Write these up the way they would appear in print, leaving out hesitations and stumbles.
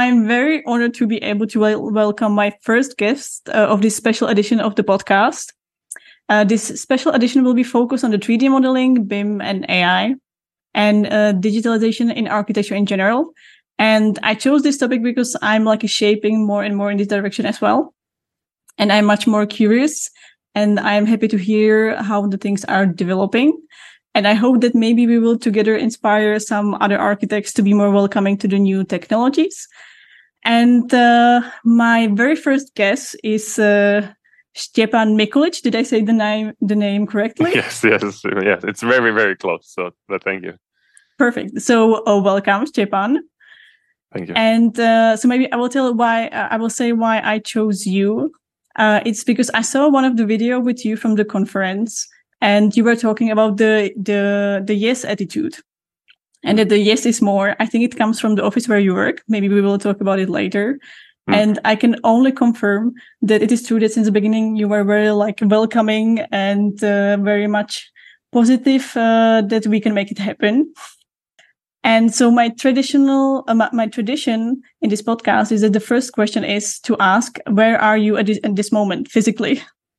I'm very honored to be able to welcome my first guest of this special edition of the podcast. This special edition will be focused on the 3D modeling, BIM, and AI, and digitalization in architecture in general. And I chose this topic because I'm shaping more and more in this direction as well. And I'm much more curious, and I'm happy to hear how the things are developing. And I hope that maybe we will together inspire some other architects to be more welcoming to the new technologies. And my very first guest is Stjepan Mikulic. Did I say the name correctly? Yes. It's very, very close. So, but thank you. Perfect. So, welcome, Stjepan. Thank you. And so maybe I will say why I chose you. It's because I saw one of the video with you from the conference, and you were talking about the yes attitude, and that the yes is more. I think it comes from the office where you work. Maybe we will talk about it later. And I can only confirm that it is true that since the beginning you were very welcoming and very much positive that we can make it happen. And so my tradition in this podcast is that the first question is to ask, where are you at this moment physically?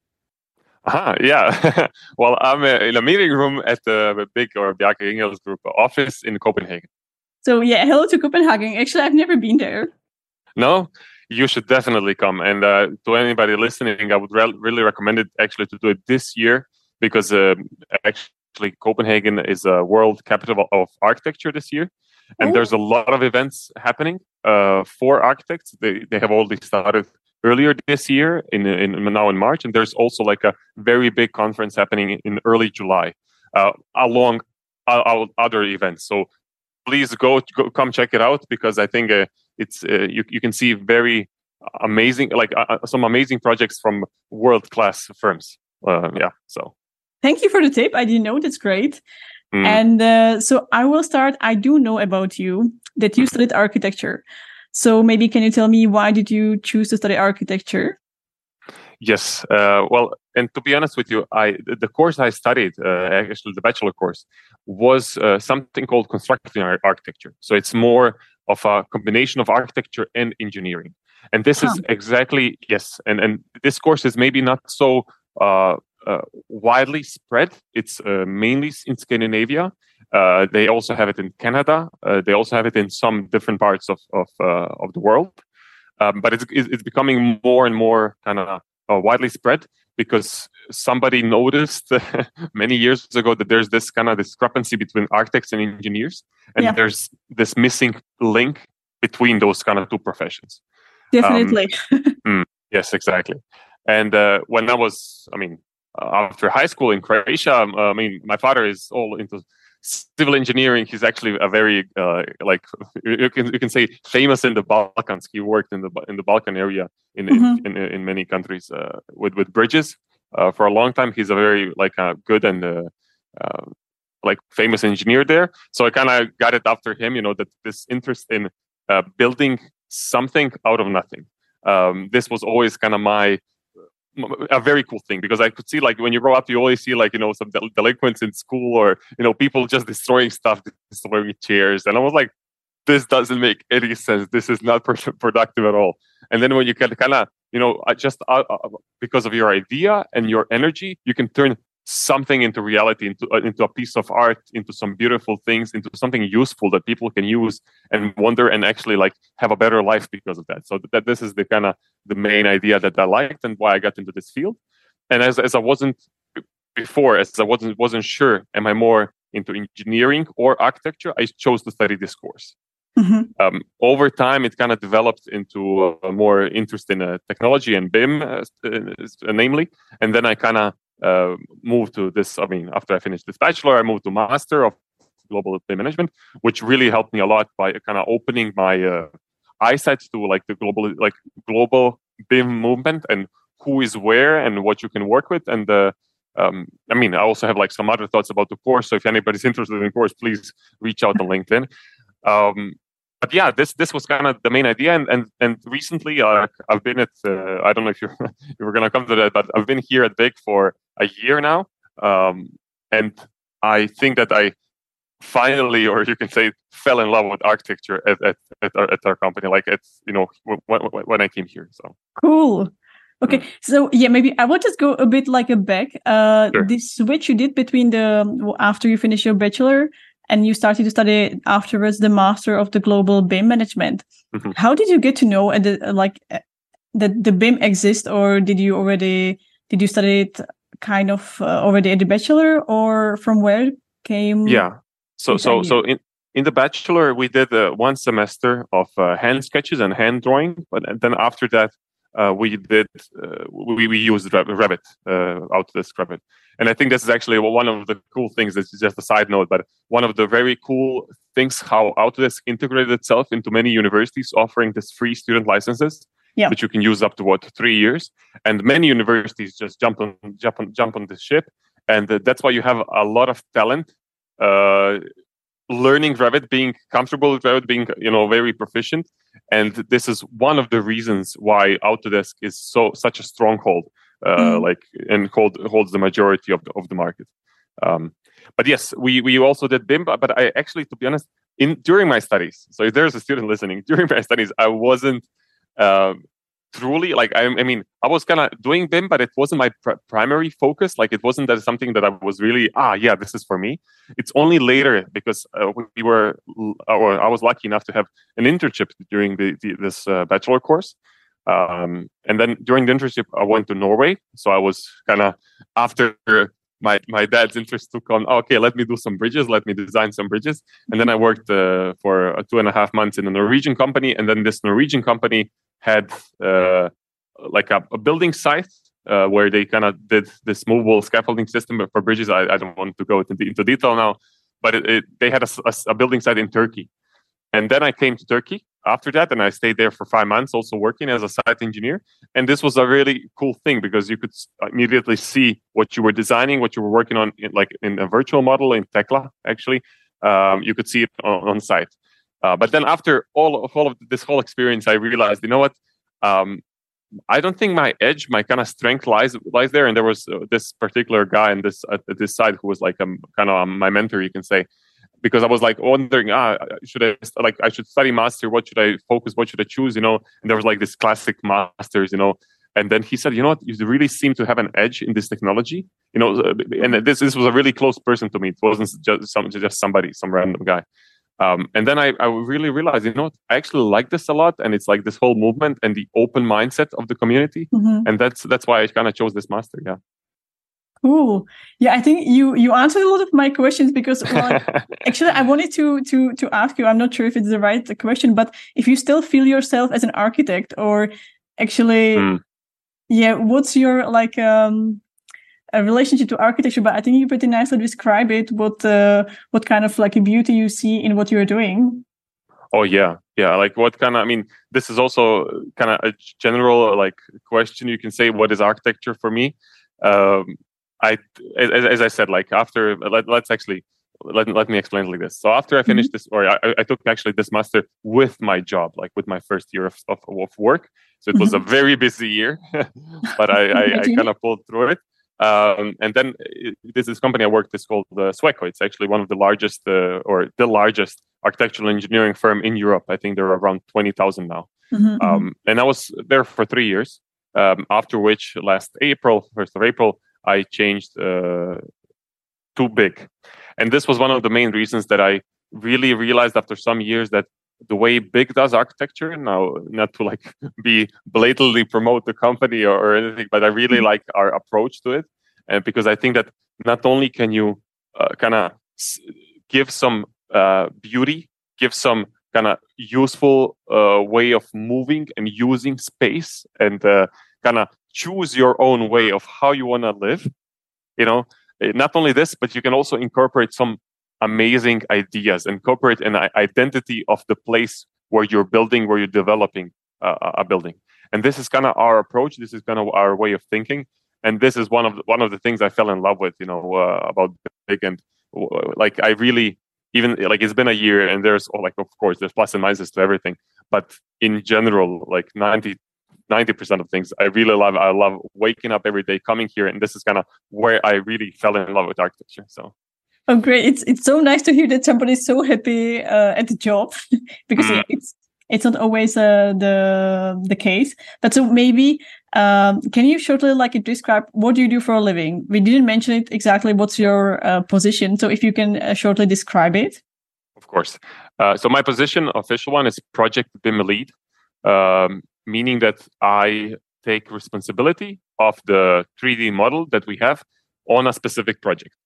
Yeah. Well, I'm in a meeting room at the Bjarke Ingels Group office in Copenhagen. So yeah, hello to Copenhagen. Actually, I've never been there. No, you should definitely come. And to anybody listening, I would really recommend it actually to do it this year, because actually Copenhagen is a world capital of architecture this year. And there's a lot of events happening for architects. They have already started earlier this year now in March, and there's also a very big conference happening in early July along other events. So please come check it out, because I think it's you can see very amazing some amazing projects from world-class firms. So thank you for the tip. I didn't know. That's great. And so I will start. I do know about you that you studied architecture. So maybe can you tell me, why did you choose to study architecture? Yes. Well, and to be honest with you, the course I studied, actually the bachelor course, was something called construction architecture. So it's more of a combination of architecture and engineering. And this is exactly, yes. And this course is maybe not so widely spread. It's mainly in Scandinavia. They also have it in Canada. They also have it in some different parts of the world. But it's becoming more and more kind of widely spread, because somebody noticed many years ago that there's this kind of discrepancy between architects and engineers, and there's this missing link between those kind of two professions. Definitely. Yes, exactly. And when I was, after high school in Croatia, my father is all into civil engineering. He's actually a very you can say famous in the Balkans. He worked in the Balkan area in many countries with bridges for a long time. He's a very good and famous engineer there. So I kind of got it after him. That this interest in building something out of nothing. This was always kind of a very cool thing, because I could see when you grow up, you always see some delinquents in school, or people just destroying stuff, destroying chairs, and I was like, this doesn't make any sense. This is not productive at all. And then when you can kind of just because of your idea and your energy, you can turn something into reality, into a piece of art, into some beautiful things, into something useful that people can use and wonder and actually have a better life because of that. So that this is the kind of the main idea that I liked and why I got into this field. And as I wasn't before, as I wasn't sure, am I more into engineering or architecture, I chose to study this course. Over time, it kind of developed into a more interest in technology and BIM, namely. And then I kind of moved to this. After I finished this bachelor, I moved to Master of Global BIM Management, which really helped me a lot by kind of opening my eyesight to the global BIM movement and who is where and what you can work with. And I also have some other thoughts about the course. So if anybody's interested in the course, please reach out on LinkedIn. But yeah, this was kind of the main idea, and recently I've been at I don't know if you were going to come to that, but I've been here at BIG for a year now, and I think that I finally, or you can say, fell in love with architecture at our company. Like it's when I came here. So cool. Okay, so yeah, maybe I will just go a bit like a back. Sure. This switch you did between after you finished your bachelor and you started to study afterwards the master of the global BIM management. Mm-hmm. How did you get to know that the BIM exists, or did you study it kind of already at the bachelor, or from where came? Yeah. So in the bachelor we did 1 semester of hand sketches and hand drawing, but then after that we used Revit, Autodesk Revit. And I think this is actually one of the cool things. This is just a side note, but one of the very cool things how Autodesk integrated itself into many universities, offering this free student licenses, which you can use up to 3 years. And many universities just jump on the ship, and that's why you have a lot of talent learning Revit, being comfortable with Revit, being very proficient. And this is one of the reasons why Autodesk is such a stronghold, and holds the majority of the market. But yes, we also did BIM. But I actually, to be honest, during my studies, so if there's a student listening, during my studies, I wasn't truly like I was kind of doing BIM, but it wasn't my primary focus. Like it wasn't that something that I was really this is for me. It's only later because I was lucky enough to have an internship during this bachelor course, and then during the internship I went to Norway. So I was kind of after my dad's interest took on. Okay, let me do some bridges. Let me design some bridges, and then I worked for 2.5 months in a Norwegian company, and then this Norwegian company had like a building site where they kind of did this movable scaffolding system for bridges. I don't want to go into detail now, but they had a building site in Turkey. And then I came to Turkey after that, and I stayed there for 5 months, also working as a site engineer. And this was a really cool thing because you could immediately see what you were designing, what you were working on, in a virtual model in Tekla, actually. You could see it on site. But then after all of this whole experience, I realized, you know what? I don't think my edge, my kind of strength lies there. And there was this particular guy at this side who was like kind of my mentor, you can say, because I was like wondering, I should study master. What should I focus? What should I choose? And there was like this classic masters, And then he said, you know what? You really seem to have an edge in this technology, And this was a really close person to me. It wasn't just somebody, some random guy. And then I really realized, I actually like this a lot, and it's like this whole movement and the open mindset of the community, and that's why I kind of chose this master. Yeah. Cool. Yeah, I think you answered a lot of my questions because actually I wanted to ask you. I'm not sure if it's the right question, but if you still feel yourself as an architect, or actually, what's your a relationship to architecture? But I think you pretty nicely describe it. What kind of like a beauty you see in what you're doing? Oh yeah. Like what kind of? This is also kind of a general question. You can say, what is architecture for me? As I said, like after let me explain it like this. So after I finished this, or I took actually this master with my job, like with my first year of work. So it was a very busy year, but I kind of pulled through it. And then this company I worked is called Sweco. It's actually one of the largest, or the largest architectural engineering firm in Europe. I think there are around 20,000 now. And I was there for 3 years. After which, last April, 1st of April, I changed to BIG. And this was one of the main reasons that I really realized after some years that the way BIG does architecture, now not to be blatantly promote the company or anything, but I really like our approach to it. And because I think that not only can you kind of give some beauty, give some kind of useful way of moving and using space, and kind of choose your own way of how you want to live. Not only this, but you can also incorporate some amazing ideas, incorporate an identity of the place where you're building, where you're developing a building. And this is kind of our approach. This is kind of our way of thinking. And this is one of the things I fell in love with, about BIG. And I really, even it's been a year, and there's of course there's plus and minuses to everything, but in general, 90% of things I really love. I love waking up every day, coming here, and this is kind of where I really fell in love with architecture. So Oh, great! It's so nice to hear that somebody's so happy at the job, because it's not always the case. But so maybe can you shortly describe what do you do for a living? We didn't mention it exactly. What's your position? So if you can shortly describe it. Of course. So my position, official one, is project BIM lead, meaning that I take responsibility of the 3D model that we have on a specific project.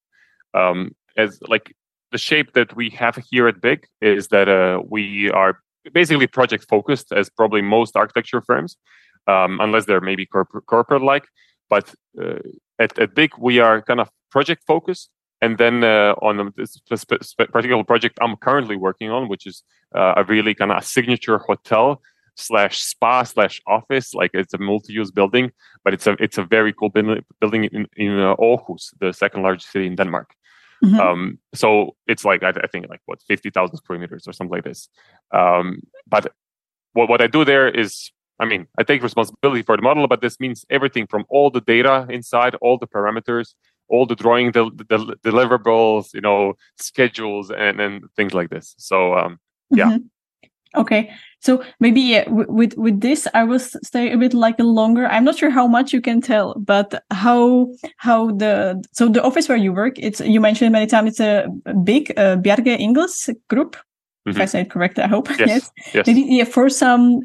As like the shape that we have here at BIG is that we are basically project focused, as probably most architecture firms, unless they're maybe corporate like. But at BIG, we are kind of project focused. And then on this particular project I'm currently working on, which is a really kind of a signature hotel / spa / office, like it's a multi-use building, but it's a very cool building in Aarhus, the second largest city in Denmark. Mm-hmm. So it's like I think like 50,000 square meters or something like this. But what I do there is, I mean, I take responsibility for the model, but this means everything from all the data inside, all the parameters, all the drawing, the deliverables, schedules, and things like this. So yeah. Mm-hmm. Okay, so maybe with this, I will stay a bit longer. I'm not sure how much you can tell, but how the office where you work, you mentioned many times it's a big Bjerke Ingels group. Mm-hmm. If I say it correctly, I hope. Yes. Maybe, yeah, for some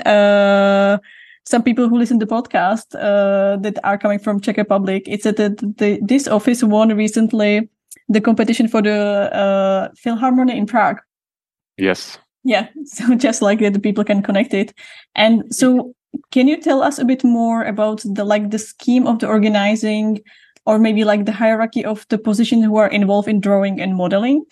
people who listen to the podcast that are coming from Czech Republic, it's that this office won recently the competition for the Philharmonie in Prague. Yes. Yeah, so just like that, the people can connect it. And so can you tell us a bit more about the scheme of the organizing, or maybe the hierarchy of the positions who are involved in drawing and modeling?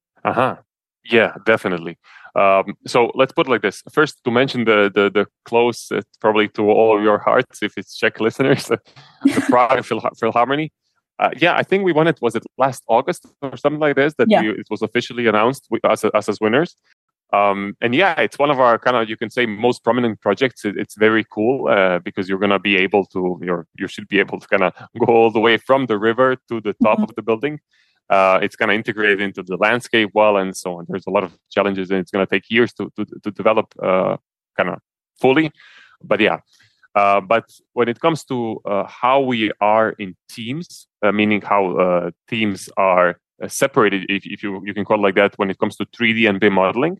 Yeah, definitely. So let's put it like this. First, to mention the close, probably to all of your hearts, if it's Czech listeners, the Prague Philharmonie. Yeah, I think we won it. Was it last August or something like this? It was officially announced us as winners. And yeah, it's one of our kind of, you can say, most prominent projects. It's very cool because you're going to be able to, you should be able to kind of go all the way from the river to the top of the building. It's going to integrate into the landscape well and so on. There's a lot of challenges, and it's going to take years to develop kind of fully. But yeah, but when it comes to how we are in teams, meaning how teams are separated, if you can call it like that, when it comes to 3D and BIM modeling.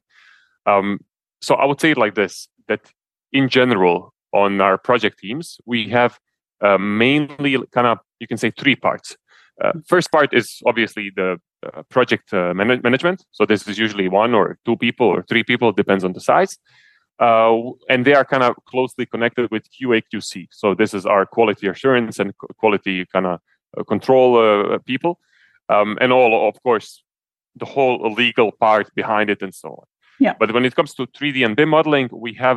So I would say it like this, that in general, on our project teams, we have mainly kind of, you can say, three parts. First part is obviously the project management. So this is usually 1 or 2 people or 3 people, depends on the size. And they are kind of closely connected with QA/QC. So this is our quality assurance and quality kind of control people. And all, of course, the whole legal part behind it and so on. Yeah. But when it comes to 3D and BIM modeling, we have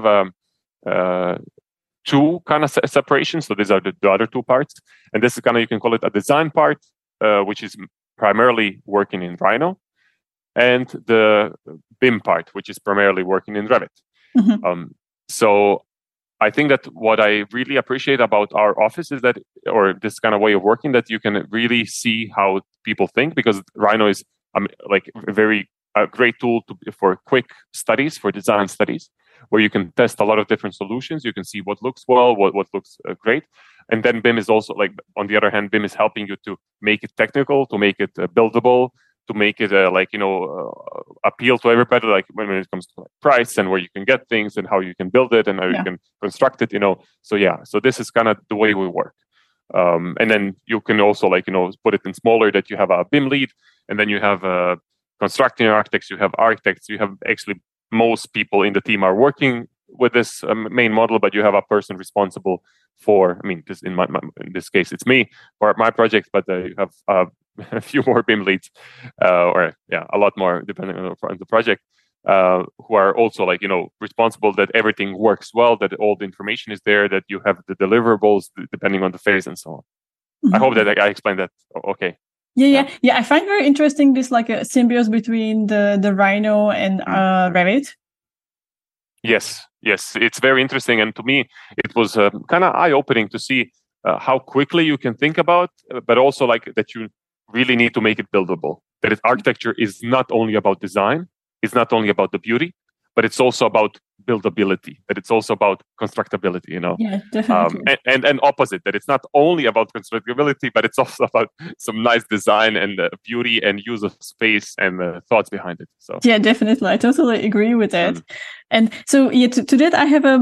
2 kind of separations. So these are the other 2 parts. And this is kind of, you can call it a design part, which is primarily working in Rhino, and the BIM part, which is primarily working in Revit. Mm-hmm. So I think that what I really appreciate about our office is that, or this kind of way of working, that you can really see how people think, because Rhino is like a great tool for quick studies, for design studies, where you can test a lot of different solutions. You can see what looks well, what looks great. And then BIM is also, like, on the other hand, BIM is helping you to make it technical, to make it buildable, to make it appeal to everybody, like when it comes to price and where you can get things and how you can build it and how you can construct it, So yeah, so this is kind of the way we work. And then you can also put it in smaller, that you have a BIM lead, and then you have constructing architects, you have architects, you have actually most people in the team are working with this main model, but you have a person responsible for, in this case, it's me for my project, but you have a few more BIM leads, a lot more depending on the project, who are also responsible that everything works well, that all the information is there, that you have the deliverables depending on the phase and so on. Mm-hmm. I hope that I explained that okay. Yeah. I find very interesting this a symbiosis between the Rhino and Revit. Yes, it's very interesting, and to me, it was kind of eye-opening to see how quickly you can think about, but also that you really need to make it buildable. that architecture is not only about design, it's not only about the beauty, but it's also about buildability, that it's also about constructability, Yeah, definitely. And opposite, that it's not only about constructability, but it's also about some nice design and beauty and use of space and thoughts behind it. So yeah, definitely, I totally agree with that. And so to that I have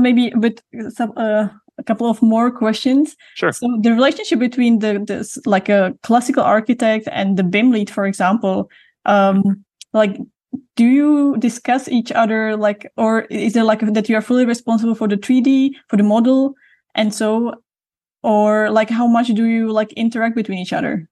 a couple of more questions. Sure. So the relationship between the like a classical architect and the BIM lead, for example, like, do you discuss each other, like, or is there like that you are fully responsible for the 3D, for the model, and so, or like how much do you like interact between each other?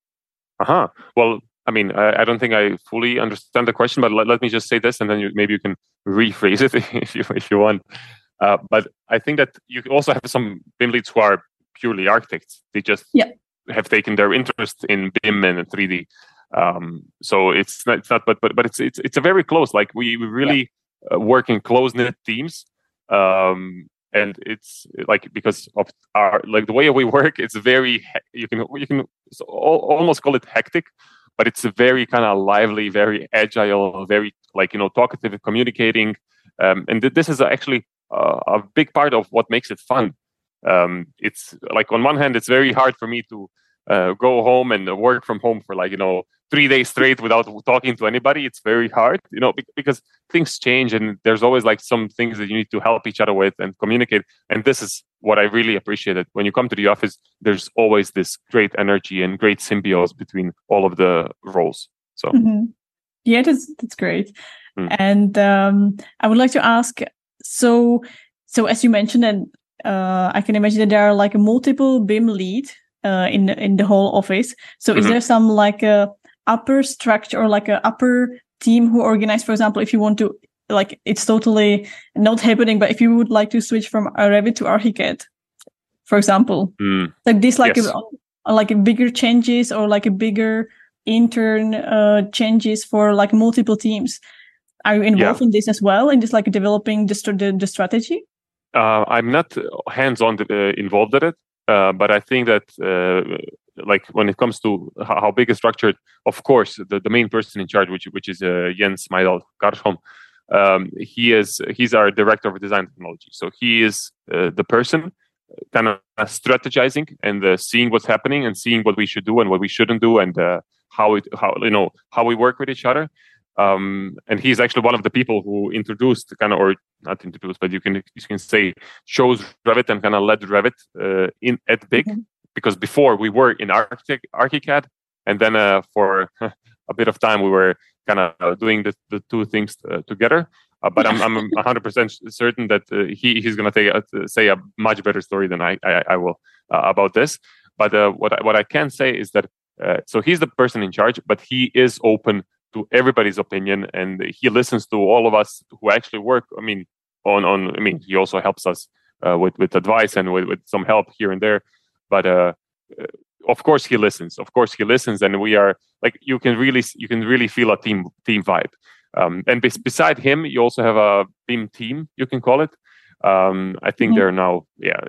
Well, I mean, I don't think I fully understand the question, but let me just say this, and then maybe you can rephrase it if you want. But I think that you also have some BIM leads who are purely architects. They just have taken their interest in BIM and 3D. So it's not, but it's a very close. Like we really work in close-knit teams, and it's like because of our like the way we work. It's very you can almost call it hectic, but it's a very kind of lively, very agile, very talkative, communicating, and this is actually a big part of what makes it fun. It's like on one hand, it's very hard for me to go home and work from home for 3 days straight without talking to anybody. It's very hard, because things change and there's always like some things that you need to help each other with and communicate. And this is what I really appreciated. When you come to the office, there's always this great energy and great symbiosis between all of the roles. So yeah, that's great. And I would like to ask, so as you mentioned, and I can imagine that there are like multiple BIM lead in the whole office. So is there some like a upper structure or like a upper team who organize, for example, if you want to, like, it's totally not happening, but if you would like to switch from Revit to Archicad, for example, like this, like like bigger changes or like a bigger intern changes for like multiple teams. Are you involved in this as well, in just like developing the strategy? I'm not hands-on involved in it, but I think that like when it comes to how big is structured, of course, the main person in charge, which is Jens Meidal Karsholm, he's our director of design technology. So he is the person kind of strategizing and seeing what's happening and seeing what we should do and what we shouldn't do and how we work with each other. And he's actually one of the people who introduced or not introduced, but you can say chose Revit and kind of led Revit at BIG, because before we were in Archicad, and then for a bit of time we were kind of doing the two things together. But I'm 100% certain that he's going to say a much better story than I will about this. But what I can say is that so he's the person in charge, but he is open to everybody's opinion, and he listens to all of us who actually work. He also helps us with advice and with some help here and there. But of course he listens. And we are like you can really feel a team vibe. And beside him, you also have a BIM team, you can call it. I think they're now,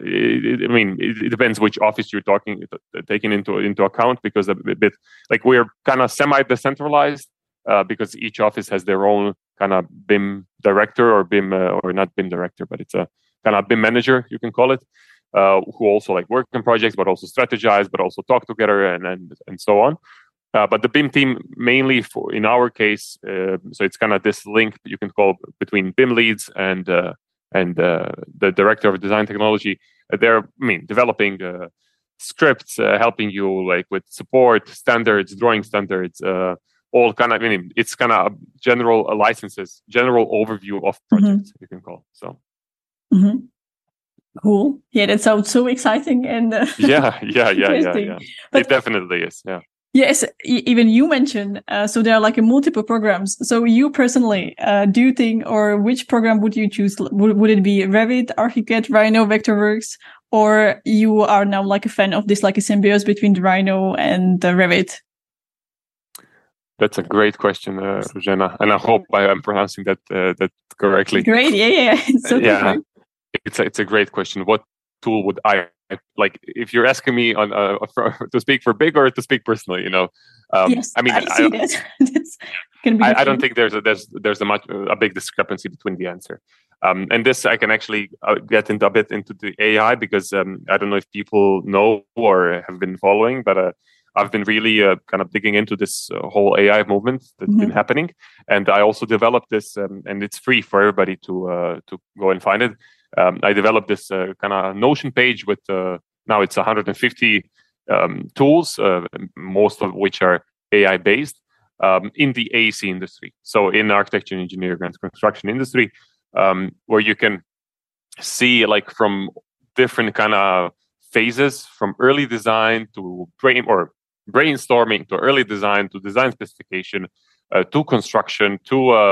it depends which office you're taking into account, because a bit like we're kind of semi-decentralized because each office has their own kind of BIM director or BIM or not BIM director, but it's a kind of BIM manager, you can call it, who also like work on projects, but also strategize, but also talk together and so on. But the BIM team mainly in our case, so it's kind of this link you can call between BIM leads and the director of design technology. They're developing scripts, helping you like with support standards, drawing standards, all kind of. It's kind of general licenses, general overview of projects you can call. So. Cool. Yeah, that sounds so exciting and yeah. But it definitely is. Yeah. Yes, even you mentioned, so there are like multiple programs. So you personally, do you think, or which program would you choose? Would it be Revit, Archicad, Rhino, Vectorworks, or you are now like a fan of this, like a symbiosis between the Rhino and the Revit? That's a great question, Jenna, and I hope I am pronouncing that correctly. Great, yeah. It's so great. It's a great question. What tool would I like if you're asking me on to speak for Big or to speak personally, Yes, I mean, I see that. That's can be. I don't think there's a big discrepancy between the answer. And this I can actually get into a bit into the AI because I don't know if people know or have been following, but I've been really kind of digging into this whole AI movement that's been happening, and I also developed this, and it's free for everybody to go and find it. I developed this kind of Notion page with now it's 150 tools, most of which are AI based in the AEC industry. So in architecture, engineering, and construction industry, where you can see like from different kind of phases, from early design to brainstorming to early design to design specification to construction to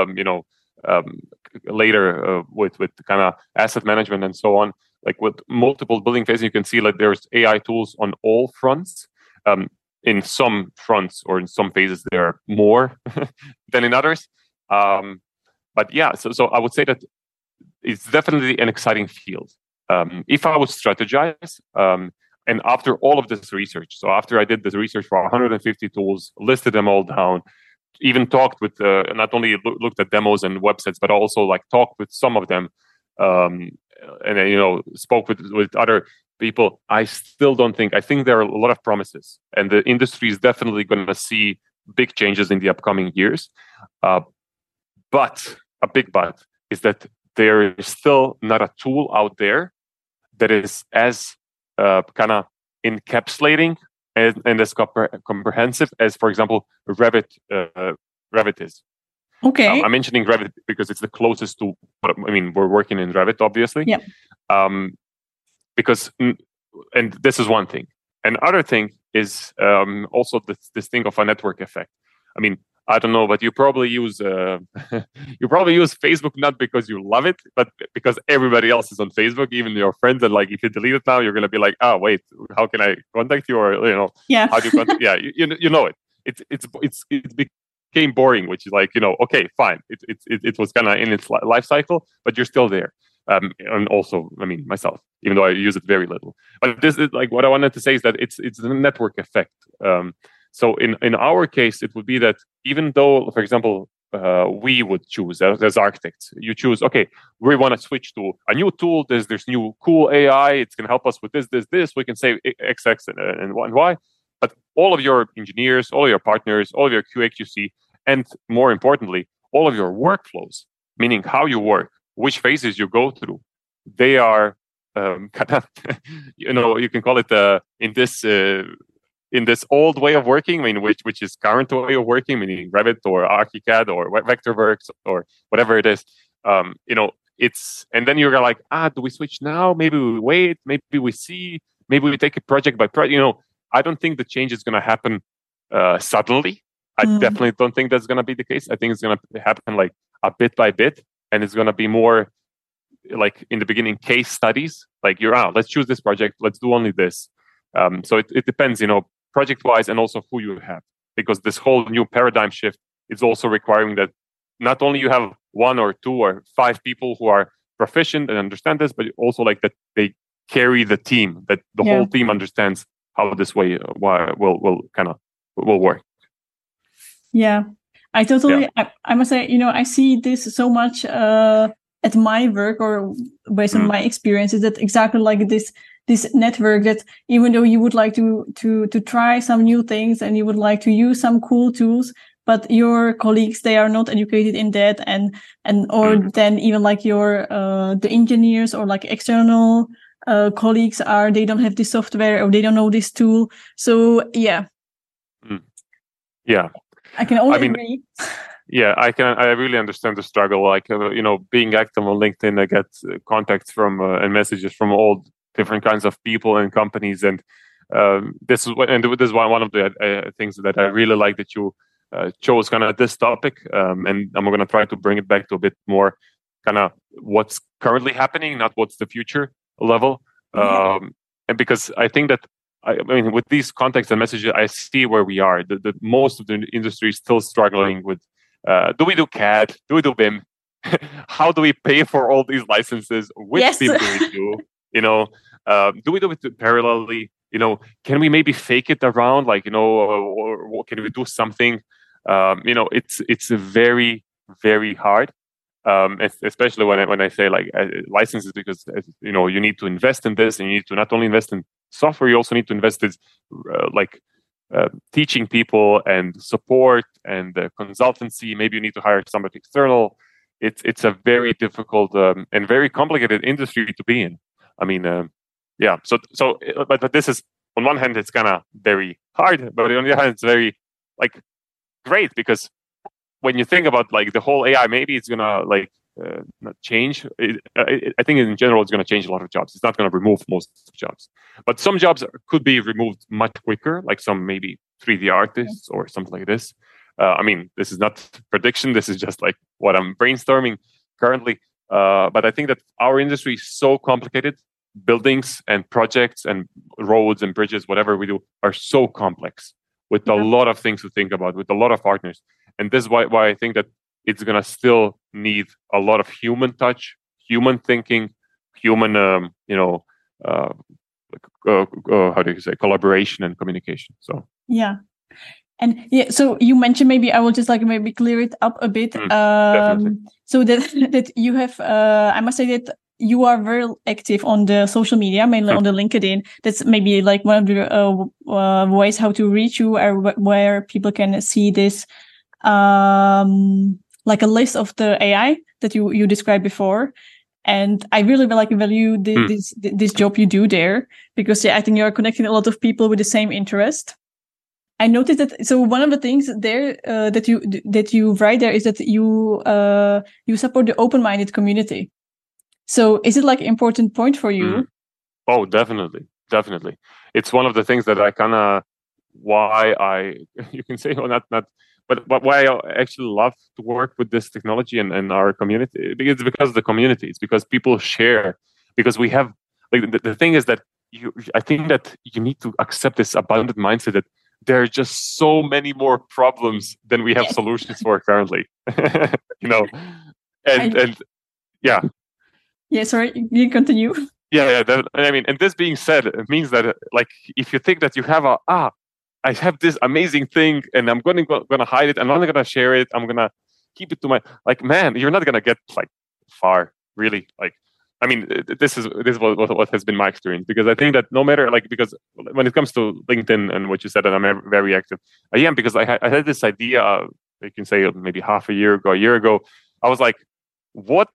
later with kind of asset management and so on. Like with multiple building phases, you can see like there's AI tools on all fronts. In some fronts or in some phases, there are more than in others. But yeah, so I would say that it's definitely an exciting field. If I would strategize, and after all of this research, so after I did this research for 150 tools, listed them all down, even talked with not only looked at demos and websites, but also like talked with some of them, and spoke with other people. I still don't think. I think there are a lot of promises, and the industry is definitely going to see big changes in the upcoming years. But a big but is that there is still not a tool out there that is as kind of encapsulating and as comprehensive as, for example, Revit is. Okay. I'm mentioning Revit because it's the closest to what I mean. We're working in Revit, obviously. Yeah. Because, and this is one thing. Another thing is also this thing of a network effect. I mean, I don't know, but you probably use Facebook not because you love it, but because everybody else is on Facebook, even your friends. And like, if you delete it now, you're gonna be like, oh wait, how can I contact you? Or yeah, how do you contact? Yeah, you know it. It became boring, which is like okay, fine. It was kind of in its life cycle, but you're still there. And also, I mean, myself, even though I use it very little. But this is like what I wanted to say is that it's the network effect. So in our case, it would be that even though, for example, we would choose as architects, you choose, okay, we want to switch to a new tool. There's new cool AI. It's going to help us with this. We can save X and Y. But all of your engineers, all of your partners, all of your QA/QC, and more importantly, all of your workflows, meaning how you work, which phases you go through, they are kind of, you can call it in this old way of working, I mean, which is current way of working, meaning Revit or ArchiCAD or Vectorworks or whatever it is. It's, and then you're like, do we switch now? Maybe we wait. Maybe we see. Maybe we take it project by project. I don't think the change is going to happen suddenly. I definitely don't think that's going to be the case. I think it's going to happen like a bit by bit, and it's going to be more like in the beginning case studies. Like let's choose this project. Let's do only this. So it depends, project wise, and also who you have, because this whole new paradigm shift is also requiring that not only you have 1 or 2 or 5 people who are proficient and understand this, but also like that they carry the team, that the whole team understands how this way will work. Yeah, I totally. Yeah. I must say, I see this so much at my work, or based on my experiences, that exactly like this network, that even though you would like to try some new things and you would like to use some cool tools, but your colleagues, they are not educated in that, or then even like your the engineers or like external colleagues they don't have this software or they don't know this tool. So yeah. Yeah. I can only agree. Yeah, I really understand the struggle. Like, being active on LinkedIn, I get contacts from and messages from all different kinds of people and companies. And this is one of the things that I really like that you chose kind of this topic. And I'm going to try to bring it back to a bit more kind of what's currently happening, not what's the future level. And because I think that, I mean, with these contacts and messages, I see where we are. The most of the industry is still struggling with, do we do CAD? Do we do BIM? How do we pay for all these licenses? Which BIM do we do? Do we do it parallelly? Can we maybe fake it around, or can we do something? It's very, very hard. Especially when I say licenses, because you need to invest in this, and you need to not only invest in software, you also need to invest in teaching people and support and consultancy. Maybe you need to hire somebody external. It's a very difficult and very complicated industry to be in. I mean, yeah. But this is, on one hand, it's kind of very hard, but on the other hand, it's very great, because when you think about the whole AI, maybe it's gonna not change. I think in general, it's gonna change a lot of jobs. It's not gonna remove most jobs, but some jobs could be removed much quicker, like some maybe 3D artists or something like this. I mean, this is not prediction. This is just what I'm brainstorming currently. But I think that our industry is so complicated. Buildings and projects and roads and bridges, whatever we do, are so complex, with a lot of things to think about, with a lot of partners. And this is why I think that it's going to still need a lot of human touch, human thinking, human, how do you say, collaboration and communication. So yeah. And yeah, so you mentioned, maybe I will just maybe clear it up a bit. So that you have, I must say that you are very active on the social media, mainly on the LinkedIn. That's maybe one of the ways how to reach you, or where people can see this, a list of the AI that you described before. And I really value this job you do there, because I think you're connecting a lot of people with the same interest. I noticed that. So one of the things there that you write there is that you support the open-minded community. So is it an important point for you? Oh, definitely. It's one of the things that I kind of, you can say, not, but why I actually love to work with this technology and our community. It's because of the community. It's because people share. Because we have, the thing is that I think that you need to accept this abundant mindset that there are just so many more problems than we have solutions for currently. And yeah. Yeah, sorry, you continue. Yeah. I mean, and this being said, it means that if you think that you have I have this amazing thing and I'm gonna hide it, I'm not gonna share it, I'm gonna keep it to my, man, you're not gonna get far, really. I mean, this is what has been my experience, because I think that no matter because when it comes to LinkedIn and what you said, that I'm very active, I am, because I had this idea, you can say maybe a year ago, I was like, what,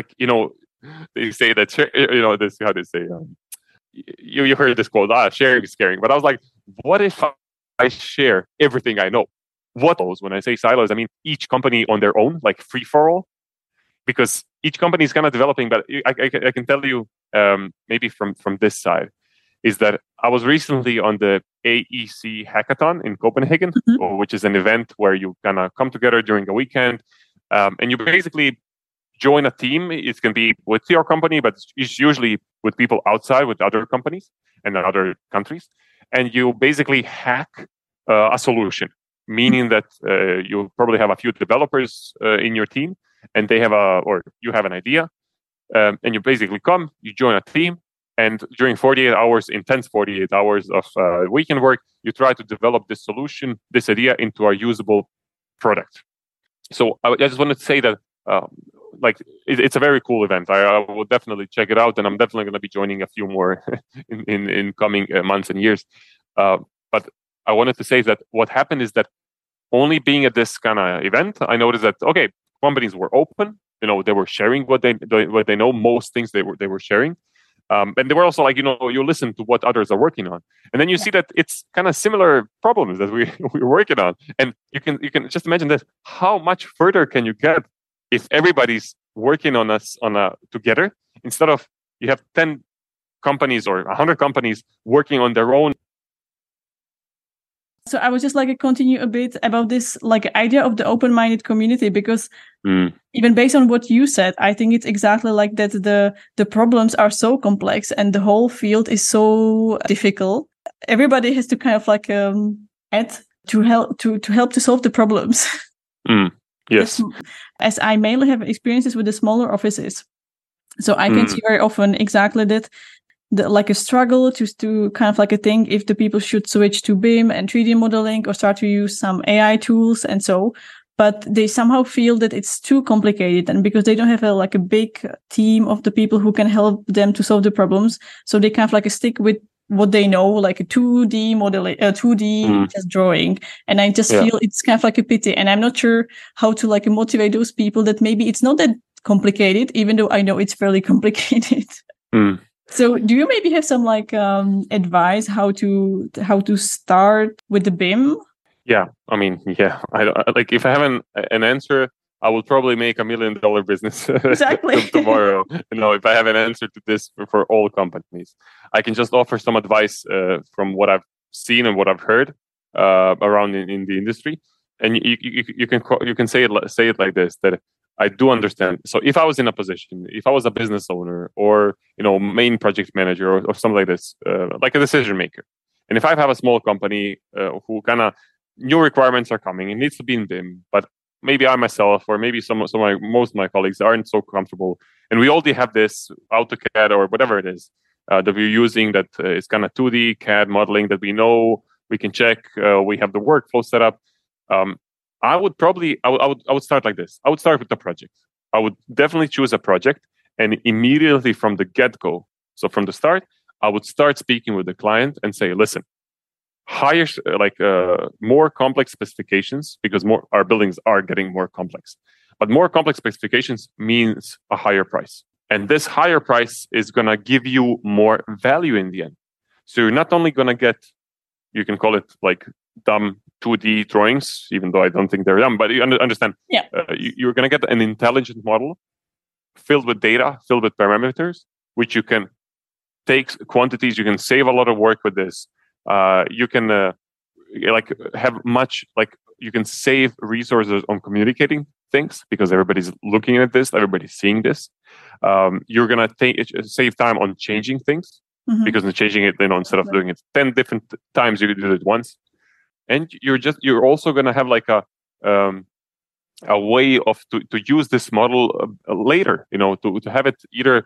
they say that, this, how they say, you heard this quote, sharing is caring. But I was like, what if I share everything I know? What those? When I say silos, I mean each company on their own, free for all, because each company is kind of developing. But I can tell you, maybe from this side, is that I was recently on the AEC Hackathon in Copenhagen, which is an event where you kind of come together during a weekend, and you basically join a team. It can be with your company, but it's usually with people outside, with other companies and other countries. And you basically hack a solution, meaning that you probably have a few developers in your team, and they have you have an idea, and you basically you join a team, and during 48 hours, intense 48 hours of weekend work, you try to develop this solution, this idea, into a usable product. So I just wanted to say that it's a very cool event. I will definitely check it out, and I'm definitely going to be joining a few more in coming months and years. But I wanted to say that what happened is that only being at this kind of event, I noticed that companies were open. They were sharing what they know. Most things they were sharing, and they were also you listen to what others are working on, and then you see that it's kind of similar problems that we're working on, and you can just imagine this: how much further can you get if everybody's working on together, instead of you have 10 companies or 100 companies working on their own. So I was just continue a bit about this idea of the open-minded community, because even based on what you said, I think it's exactly like that. The problems are so complex and the whole field is so difficult. Everybody has to kind of add to help to solve the problems. Yes. As I mainly have experiences with the smaller offices, so I can see very often exactly that like a struggle to kind of like a think if the people should switch to BIM and 3D modeling or start to use some AI tools and so. But they somehow feel that it's too complicated, and because they don't have a big team of the people who can help them to solve the problems, so they kind of like stick with what they know, like a 2D modeling, 2D just drawing. And I just feel it's kind of like a pity. And I'm not sure how to like motivate those people that maybe it's not that complicated, even though I know it's fairly complicated. So do you maybe have some like advice how to start with the BIM? Yeah, I mean, yeah. Like if I have an answer, I will probably make $1 million business Exactly tomorrow. If I have an answer to this for all companies, I can just offer some advice from what I've seen and what I've heard around in the industry. And you can say it like this, that I do understand. So if I was in a position, if I was a business owner or main project manager or something like this, like a decision maker, and if I have a small company who kind of new requirements are coming, it needs to be in BIM, but maybe I myself or maybe most of my colleagues aren't so comfortable, and we already have this AutoCAD or whatever it is that we're using that is kind of 2D CAD modeling that we know we can check. We have the workflow set up. I would start like this. I would start with the project. I would definitely choose a project, and immediately from the get-go, so from the start, I would start speaking with the client and say, listen, higher, more complex specifications, because our buildings are getting more complex. But more complex specifications means a higher price. And this higher price is going to give you more value in the end. So you're not only going to get, you can call it like dumb 2D drawings, even though I don't think they're dumb, but you understand. Yeah. You're going to get an intelligent model filled with data, filled with parameters, which you can take quantities. You can save a lot of work with this. You can you can save resources on communicating things because everybody's looking at this, everybody's seeing this. You're gonna save time on changing things because in changing it, instead of doing it 10 different times, you do it once. And you're also gonna have like a way to use this model later. To have it either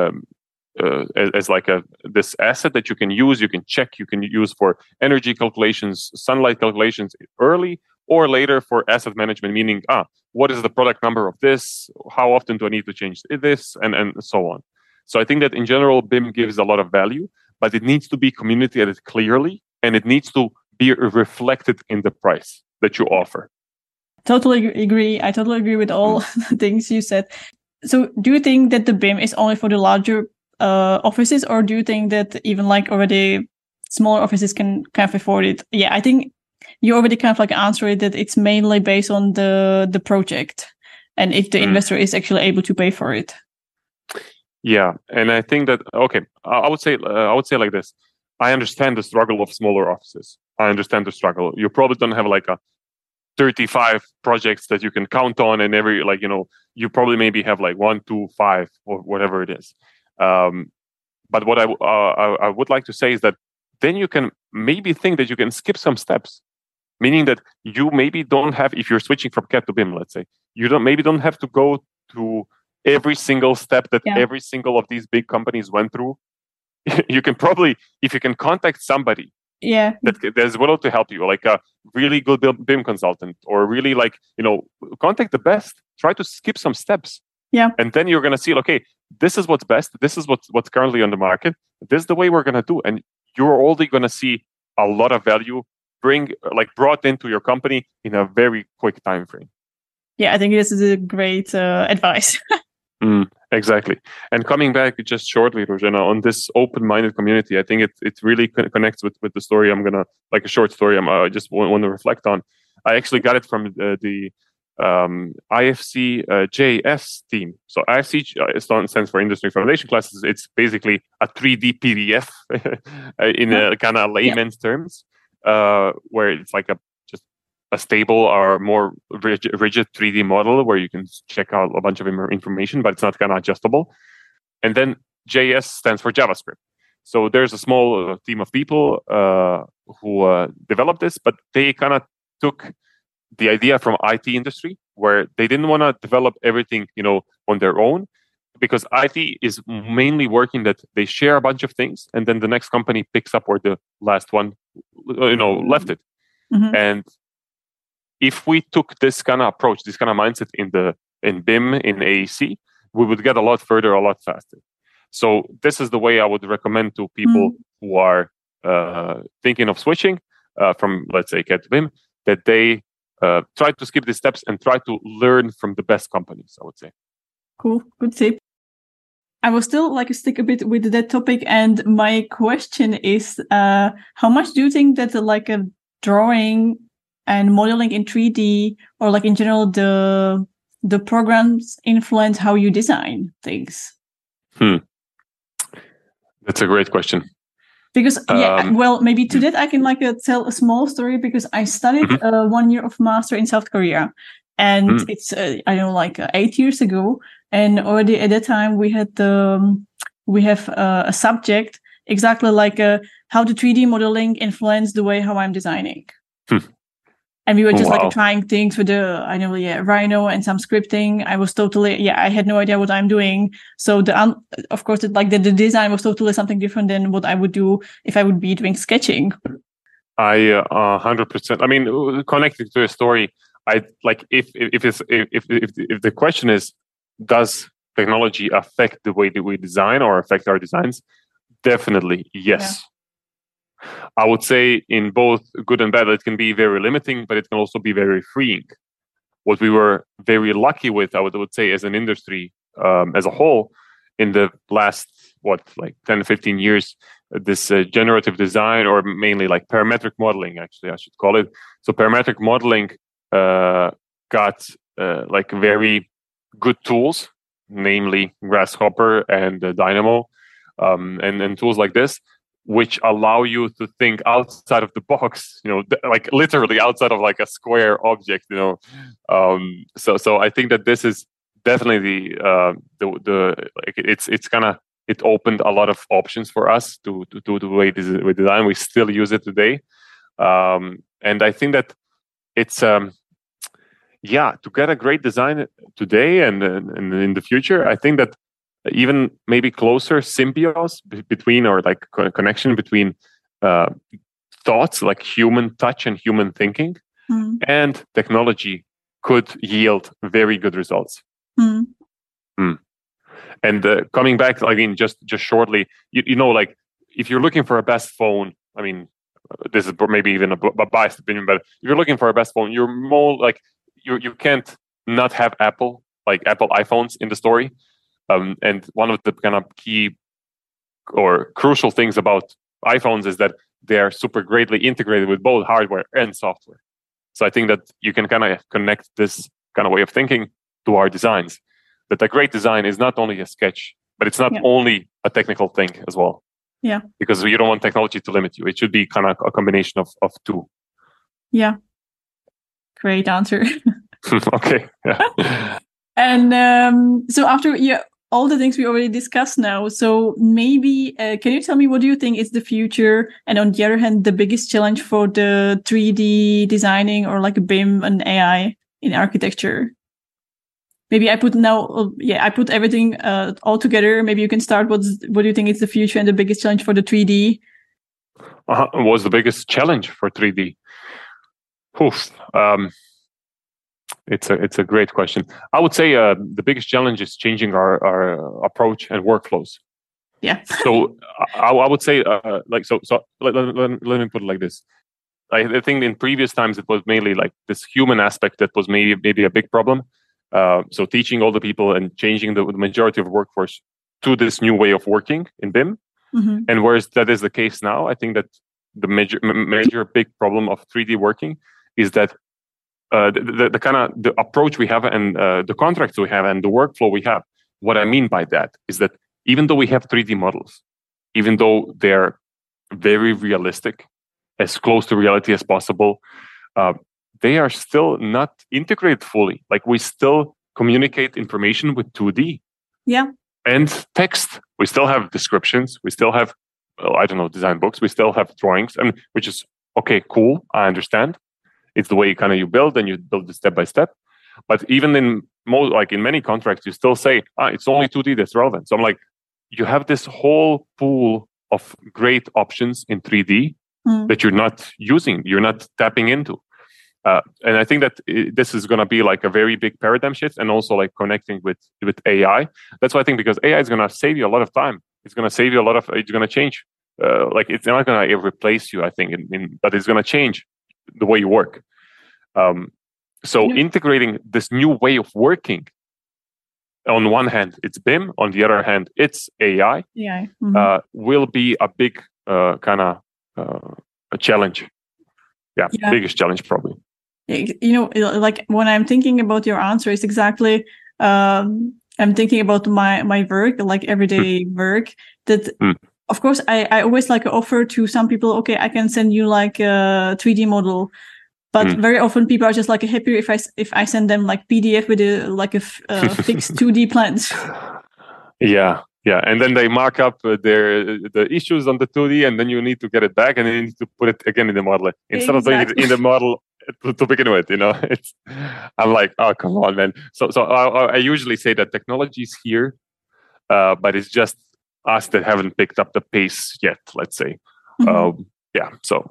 as like this asset that you can use, you can check, you can use for energy calculations, sunlight calculations early, or later for asset management, meaning what is the product number of this, how often do I need to change this, and so on. So I think that in general BIM gives a lot of value, but it needs to be communicated clearly, and it needs to be reflected in the price that you offer. Totally agree. I totally agree with all the things you said. So do you think that the BIM is only for the larger offices, or do you think that even like already smaller offices can kind of afford it? Yeah, I think you already kind of like answered it, that it's mainly based on the project and if the investor is actually able to pay for it. Yeah, and I think that I would say like this. I understand the struggle of smaller offices. I understand the struggle. You probably don't have like a 35 projects that you can count on, and you probably maybe have like 1, 2, 5 or whatever it is. But what I would like to say is that then you can maybe think that you can skip some steps, meaning that you maybe don't have, if you're switching from CAD to BIM, let's say, you don't have to go to every single step that every single of these big companies went through. You can probably, if you can contact somebody that is willing to help you, like a really good BIM consultant, or really contact the best, try to skip some steps. Yeah. And then you're going to see, okay, this is what's best. This is what's currently on the market. This is the way we're going to do. And you're already going to see a lot of value brought into your company in a very quick time frame. Yeah, I think this is a great advice. Exactly. And coming back just shortly, Rojena, on this open-minded community, I think it really connects with the story. I'm going to, like a short story, I just want to reflect on. I actually got it from the IFC JS team. So IFC stands for Industry Foundation Classes. It's basically a 3D PDF in a kind of layman's terms, where it's like just a stable or more rigid 3D model where you can check out a bunch of information, but it's not kind of adjustable. And then JS stands for JavaScript. So there's a small team of people who developed this, but they kind of took the idea from IT industry, where they didn't want to develop everything, on their own. because IT is mainly working that they share a bunch of things, and then the next company picks up where the last one, left it. Mm-hmm. And if we took this kind of approach, this kind of mindset in BIM, in AEC, we would get a lot further, a lot faster. So this is the way I would recommend to people who are thinking of switching from, let's say, CAD to BIM, that they try to skip these steps and try to learn from the best companies, I would say. Cool. Good tip. I will still stick a bit with that topic. And my question is, how much do you think that a drawing and modeling in 3D, or in general, the programs influence how you design things? That's a great question. Because maybe to that I can tell a small story, because I studied 1 year of master in South Korea, and it's 8 years ago, and already at that time we have a subject exactly how the 3D modeling influenced the way how I'm designing. And we were just trying things with Rhino and some scripting. I was totally, I had no idea what I'm doing. So of course, the design was totally something different than what I would do if I would be doing sketching. I 100%. I mean, connected to a story, if the question is, does technology affect the way that we design or affect our designs? Definitely, yes. Yeah. I would say in both good and bad, it can be very limiting, but it can also be very freeing. What we were very lucky with, I would say, as an industry as a whole, in the last 10, 15 years, this generative design, or mainly parametric modeling, actually I should call it. So parametric modeling got very good tools, namely Grasshopper and Dynamo, and tools like this, which allow you to think outside of the box, literally outside of a square object, So I think that this is definitely it opened a lot of options for us to do the way we design. We still use it today, and I think that it's to get a great design today and in the future. I think that even maybe closer symbiose between, or connection between thoughts, like human touch and human thinking, and technology could yield very good results. And coming back, just shortly, if you're looking for a best phone, this is maybe even a biased opinion, but if you're looking for a best phone, you're more you can't not have Apple iPhones in the story. And one of the kind of key or crucial things about iPhones is that they are super greatly integrated with both hardware and software. So I think that you can kind of connect this kind of way of thinking to our designs. That a great design is not only a sketch, but it's not only a technical thing as well. Yeah. Because you don't want technology to limit you. It should be kind of a combination of two. Yeah. Great answer. Okay. Yeah. And so after all the things we already discussed now, so maybe can you tell me what do you think is the future, and on the other hand, the biggest challenge for the 3D designing, or BIM and AI in architecture? Maybe I put everything all together. Maybe you can start. What do you think is the future and the biggest challenge for the 3D? What's the biggest challenge for 3D? It's a great question. I would say the biggest challenge is changing our approach and workflows. Yeah. So I would say let me put it like this. I think in previous times it was mainly this human aspect that was maybe a big problem. So teaching all the people and changing the majority of workforce to this new way of working in BIM. Mm-hmm. And whereas that is the case now, I think that the major big problem of 3D working is that the kind of the approach we have and the contracts we have and the workflow we have. What I mean by that is that even though we have 3D models, even though they're very realistic, as close to reality as possible, they are still not integrated fully. We still communicate information with 2D. Yeah. And text. We still have descriptions. We still have, design books. We still have drawings, which is okay, cool. I understand. It's the way you build, and you build it step by step. But even in like in many contracts, you still say, it's only 2D that's relevant. So I'm like, you have this whole pool of great options in 3D that you're not using, you're not tapping into. And I think that this is going to be like a very big paradigm shift, and also like connecting with AI. That's why I think, because AI is going to save you a lot of time. It's going to save you a lot of, it's going to change. Like it's not going to replace you, I think, but it's going to change the way you work. So integrating this new way of working, on one hand, it's BIM. On the other hand, it's AI. Yeah. Will be a big kind of a challenge. Yeah, biggest challenge probably. Like when I'm thinking about your answer, it's exactly I'm thinking about my work, like everyday work. That of course I always like offer to some people, okay, I can send you like a 3D model. But very often people are just like happy if I send them like PDF with a fixed 2D plans. Yeah, and then they mark up the issues on the 2D, and then you need to get it back, and then you need to put it again in the model instead of doing it in the model to begin with. I'm like, oh, come on, man. So I usually say that technology is here, but it's just us that haven't picked up the pace yet. Let's say, So.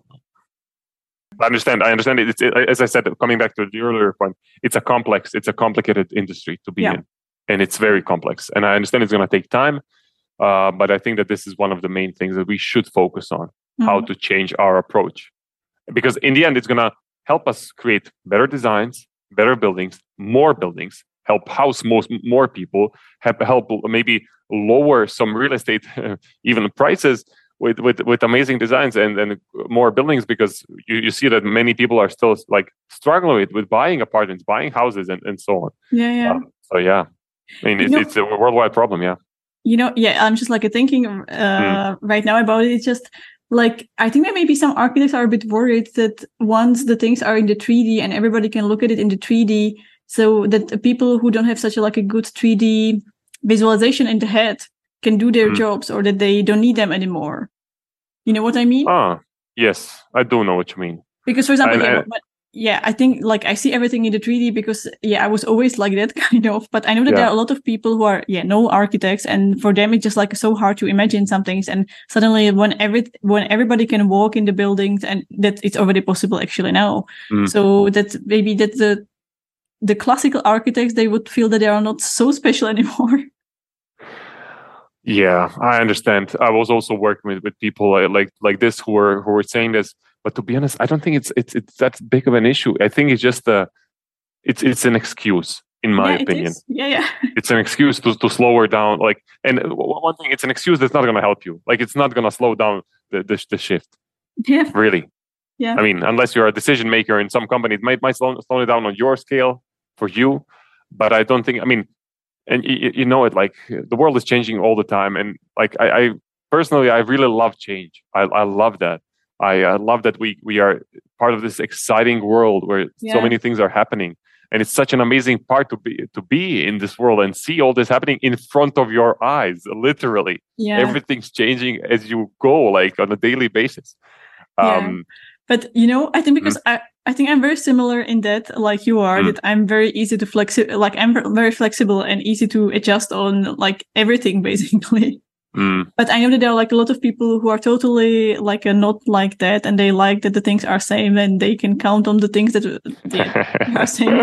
I understand. It's as I said, coming back to the earlier point, it's a complicated industry to be in, and it's very complex. And I understand it's going to take time, but I think that this is one of the main things that we should focus on: how to change our approach, because in the end, it's going to help us create better designs, better buildings, help house more people, help maybe lower some real estate even prices. With amazing designs and more buildings, because you see that many people are still like struggling with buying apartments, buying houses, and so on. So I mean, it's a worldwide problem. I'm just like thinking right now about it. It's just like, I think that maybe some architects are a bit worried that once the things are in the 3D and everybody can look at it in the 3D, so that people who don't have such a good 3D visualization in the head can do their jobs, or that they don't need them anymore. You know what I mean? Yes, I do know what you mean. Because, for example, I think like I see everything in the 3D because I was always like that kind of. But I know that there are a lot of people who are no architects, and for them it's just like so hard to imagine some things. And suddenly, when everybody can walk in the buildings, and that it's already possible actually now. So that maybe that the classical architects, they would feel that they are not so special anymore. Yeah, I understand. I was also working with people like this who were saying this, but to be honest, I don't think it's that big of an issue. I think it's just it's an excuse, in my opinion. It's an excuse to slow her down. Like, and one thing, it's an excuse that's not going to help you. Like, it's not going to slow down the shift. Yeah, really. Yeah, I mean, unless you're a decision maker in some company, it might slow it down on your scale for you, but I don't think. I mean. And you know it, like the world is changing all the time, and like I personally, I really love change. I love that. I love that we are part of this exciting world where so many things are happening, and it's such an amazing part to be in this world and see all this happening in front of your eyes. Literally, everything's changing as you go, like on a daily basis. But I think because I think I'm very similar in that, like you are, that I'm very easy to like I'm very flexible and easy to adjust on like everything basically. But I know that there are like a lot of people who are totally like not like that, and they like that the things are same and they can count on the things that are same.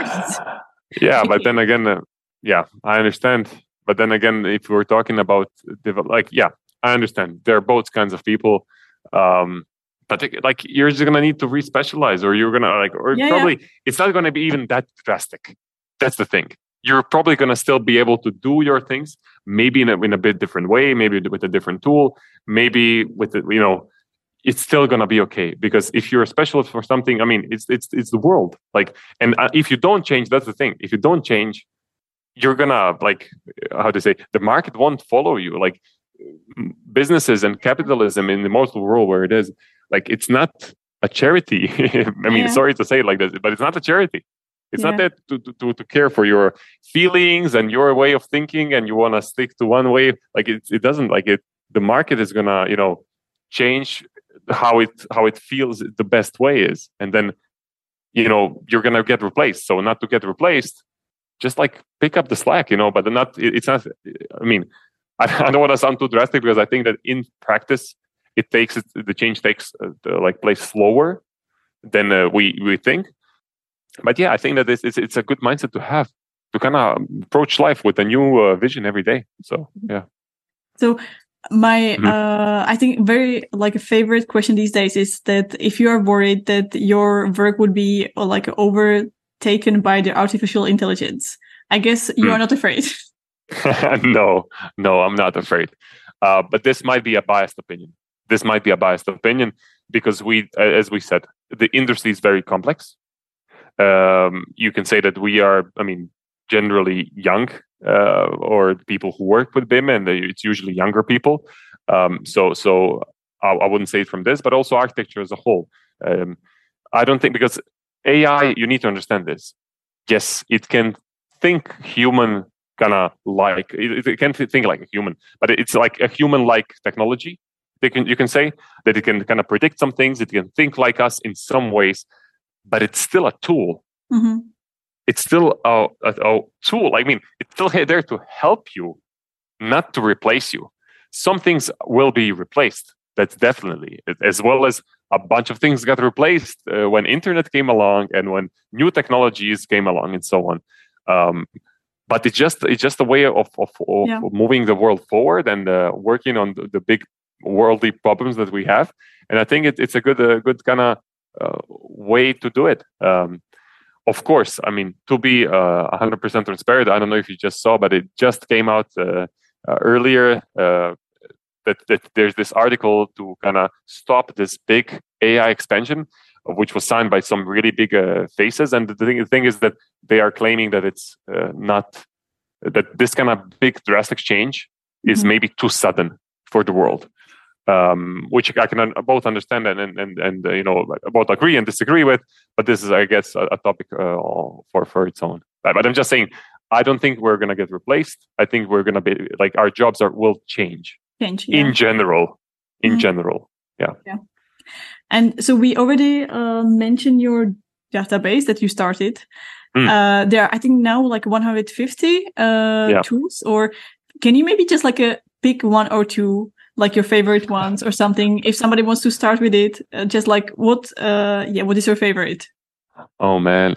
But then again, I understand. But then again, if we're talking about I understand. There are both kinds of people. But like you're just gonna need to re-specialize, or you're gonna probably it's not gonna be even that drastic. That's the thing. You're probably gonna still be able to do your things, maybe in a bit different way, maybe with a different tool, maybe with it's still gonna be okay. Because if you're a specialist for something, I mean, it's the world. Like, and if you don't change, that's the thing. If you don't change, you're gonna the market won't follow you. Like businesses and capitalism in the most of the world where it is. Like, it's not a charity. I mean, sorry to say it like this, but it's not a charity. It's not that to care for your feelings and your way of thinking, and you want to stick to one way. Like it doesn't like it. The market is gonna change how it feels the best way is, and then you're gonna get replaced. So not to get replaced, just like pick up the slack, but it's not, I mean, I don't want to sound too drastic, because I think that in practice, the change takes place slower than we think. But yeah, I think that it's a good mindset to have, to kind of approach life with a new vision every day. So yeah. So my I think very like a favorite question these days is that if you are worried that your work would be like overtaken by the artificial intelligence, I guess you are not afraid. No, I'm not afraid. But this might be a biased opinion. Because as we said, the industry is very complex. You can say that we are, generally young, or people who work with BIM, and it's usually younger people. So I wouldn't say it from this, but also architecture as a whole. I don't think, because AI, you need to understand this. Yes, it can think human, it can think like a human, but it's like a human-like technology. You can say that it can kind of predict some things. It can think like us in some ways, but it's still a tool. Mm-hmm. It's still a tool. It's still there to help you, not to replace you. Some things will be replaced. That's definitely, as well as a bunch of things got replaced when internet came along and when new technologies came along and so on. But it's just a way of moving the world forward and working on the big worldly problems that we have. And I think it's a good kind of way to do it. Of course, to be 100% transparent, I don't know if you just saw, but it just came out earlier that there's this article to kind of stop this big AI expansion, which was signed by some really big faces. And the thing is that they are claiming that it's not, that this kind of big drastic change is maybe too sudden for the world. Which I can both understand and both agree and disagree with, but this is, I guess, a topic for its own. But I'm just saying, I don't think we're going to get replaced. I think we're going to be our jobs will change. In general. Yeah. And so we already mentioned your database that you started. There are, I think, now 150 tools. Or can you maybe just pick one or two, your favorite ones or something? If somebody wants to start with it, just what is your favorite? Oh man,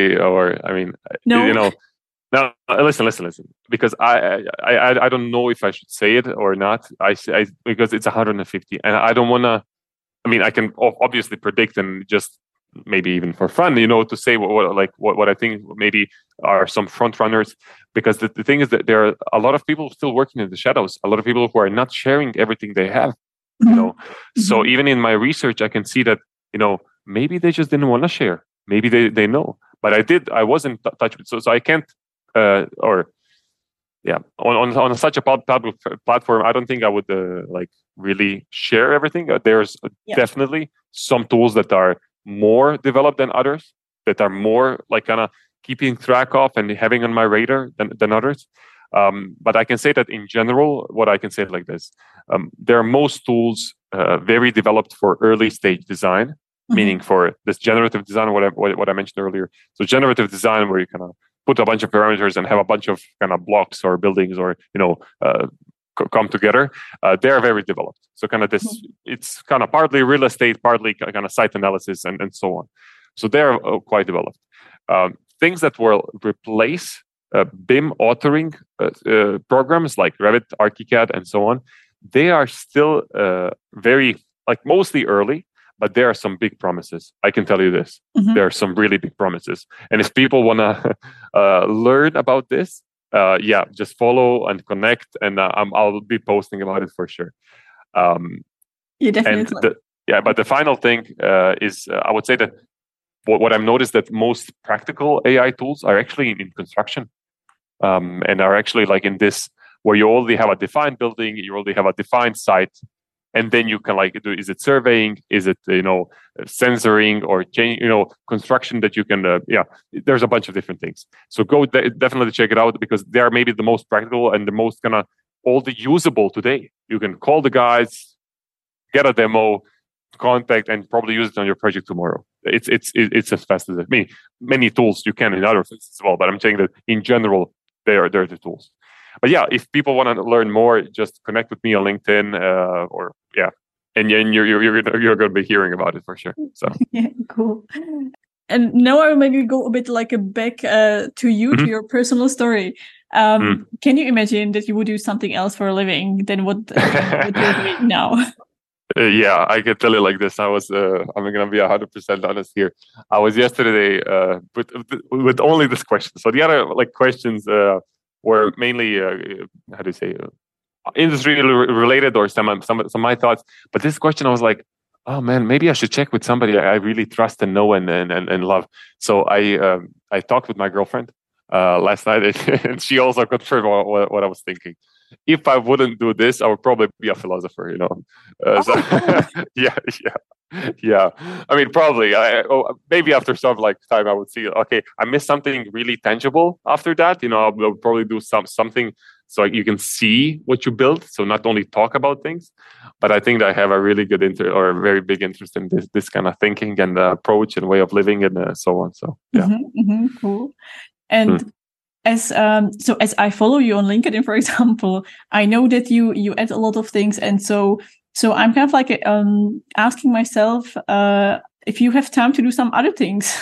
no. No, listen. Because I don't know if I should say it or not. Because it's 150, and I don't want to. I can obviously predict and just maybe even for fun, to say what I think maybe are some front runners. Because the thing is that there are a lot of people still working in the shadows. A lot of people who are not sharing everything they have. So even in my research, I can see that maybe they just didn't want to share. Maybe they know, but I wasn't touched with. So I can't. On such a public platform, I don't think I would really share everything. There's definitely some tools that are more developed than others, that are more kind of keeping track of and having on my radar than others. But I can say that in general, what I can say like this: there are most tools very developed for early stage design, meaning for this generative design, what I mentioned earlier. So generative design, where you kind of put a bunch of parameters and have a bunch of kind of blocks or buildings or come together. They are very developed. So kind of this, it's kind of partly real estate, partly kind of site analysis and so on. So they are quite developed. Things that will replace BIM authoring programs like Revit, ArchiCAD, and so on, they are still very mostly early. But there are some big promises. I can tell you this. There are some really big promises. And if people want to learn about this, just follow and connect. And I'll be posting about it for sure. Definitely. But the final thing is, I would say that what I've noticed that most practical AI tools are actually in construction. And are actually in this, where you already have a defined building, you already have a defined site. And then you can do, is it surveying? Is it, sensoring or change, construction that you can, there's a bunch of different things. So go definitely check it out, because they are maybe the most practical and the most all the usable today. You can call the guys, get a demo, contact and probably use it on your project tomorrow. It's as fast as it. I mean, many tools you can in other things as well, but I'm saying that in general, they're the tools. But yeah, if people want to learn more, just connect with me on LinkedIn, or yeah, and you're going to be hearing about it for sure. So yeah, cool. And now I will maybe go a bit like back to you, to your personal story. Can you imagine that you would do something else for a living than what you're doing now? Yeah, I can tell you like this. I'm going to be 100% honest here. I was yesterday with only this question. So the other like questions were mainly how do you say industry related or some of my thoughts. But this question, I was like, oh man, maybe I should check with somebody I really trust and know and love. So I talked with my girlfriend last night, and she also confirmed what I was thinking. If I wouldn't do this, I would probably be a philosopher, you know. So, yeah. I mean, probably. Maybe after some like time, I would see. Okay, I missed something really tangible. After that, you know, I'll probably do something so you can see what you built. So not only talk about things, but I think that I have a really good or a very big interest in this kind of thinking and approach and way of living and so on. So yeah, cool. And as I follow you on LinkedIn, for example, I know that you add a lot of things, and so I'm kind of like asking myself if you have time to do some other things.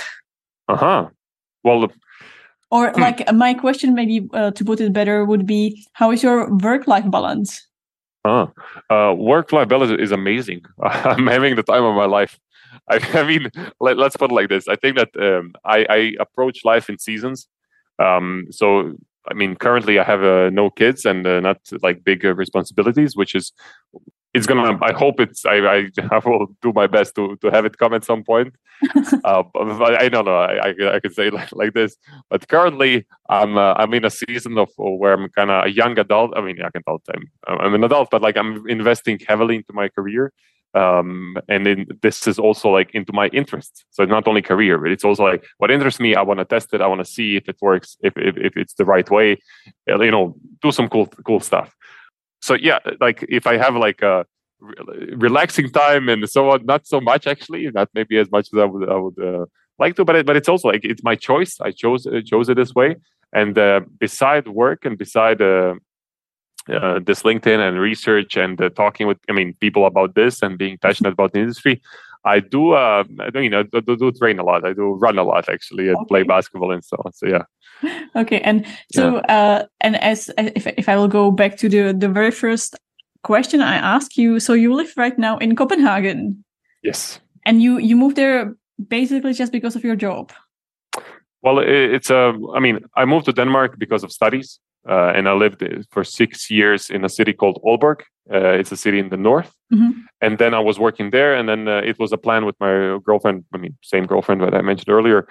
Well, or like my question, maybe to put it better, would be, how is your work-life balance? Work-life balance is amazing. I'm having the time of my life. I mean, let's put it like this. I think that I approach life in seasons. So, I mean, currently I have no kids and not like big responsibilities, which is, it's gonna. I hope I will do my best to have it come at some point. But I don't know. I could say like this. But currently, I'm in a season of where I'm kind of a young adult. I mean, young adult. I'm an adult, but like I'm investing heavily into my career. And this is also like into my interests. So it's not only career, but it's also like what interests me. I want to test it. I want to see if it works, if it's the right way. You know, do some cool stuff. So yeah, like if I have like a relaxing time and so on, not so much actually, not maybe as much as I would like to, but it's also like it's my choice. I chose it this way. And beside work and beside this LinkedIn and research and talking with people about this and being passionate about the industry, I do train a lot. I do run a lot actually and play basketball and so on. So yeah. Okay, and so and as if I will go back to the very first question I asked you, so you live right now in Copenhagen. Yes. And you moved there basically just because of your job. Well, I moved to Denmark because of studies, and I lived for 6 years in a city called Aalborg. It's a city in the north. And then I was working there, and then it was a plan with my girlfriend. Same girlfriend that I mentioned earlier.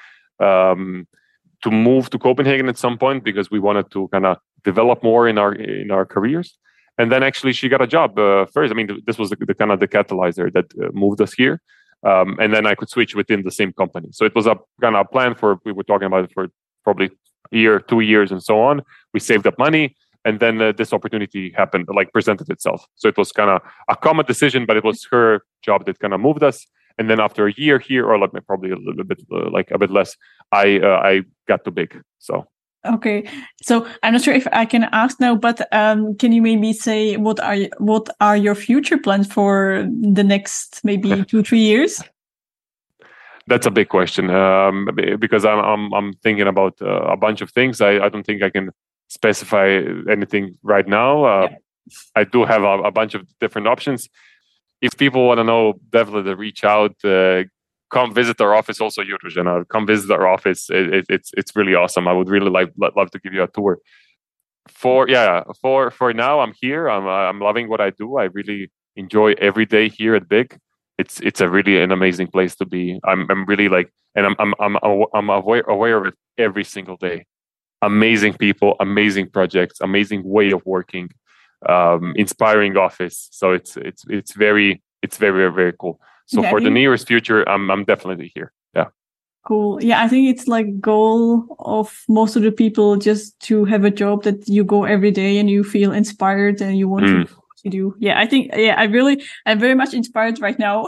To move to Copenhagen at some point because we wanted to kind of develop more in our careers. And then actually she got a job first. This was the kind of the catalyzer that moved us here. And then I could switch within the same company. So it was a kind of plan we were talking about it for probably a year, 2 years and so on. We saved up money and then this opportunity happened, presented itself. So it was kind of a common decision, but it was her job that kind of moved us. And then after a year here, or probably a little bit, a bit less, I got too big. So okay, so I'm not sure if I can ask now, but can you maybe say what are your future plans for the next maybe 2-3 years? That's a big question because I'm thinking about a bunch of things. I don't think I can specify anything right now. I do have a bunch of different options. If people want to know, definitely reach out. Come visit our office. Also, Jurgen, come visit our office. It's really awesome. I would really love to give you a tour. For now, I'm here. I'm loving what I do. I really enjoy every day here at Big. It's a really an amazing place to be. I'm really and I'm aware of it every single day. Amazing people, amazing projects, amazing way of working. Inspiring office, so it's very, very cool. So for the nearest future, I'm definitely here. Yeah, cool. Yeah, I think it's goal of most of the people just to have a job that you go every day and you feel inspired and you want to you do. Yeah, I think, I'm very much inspired right now.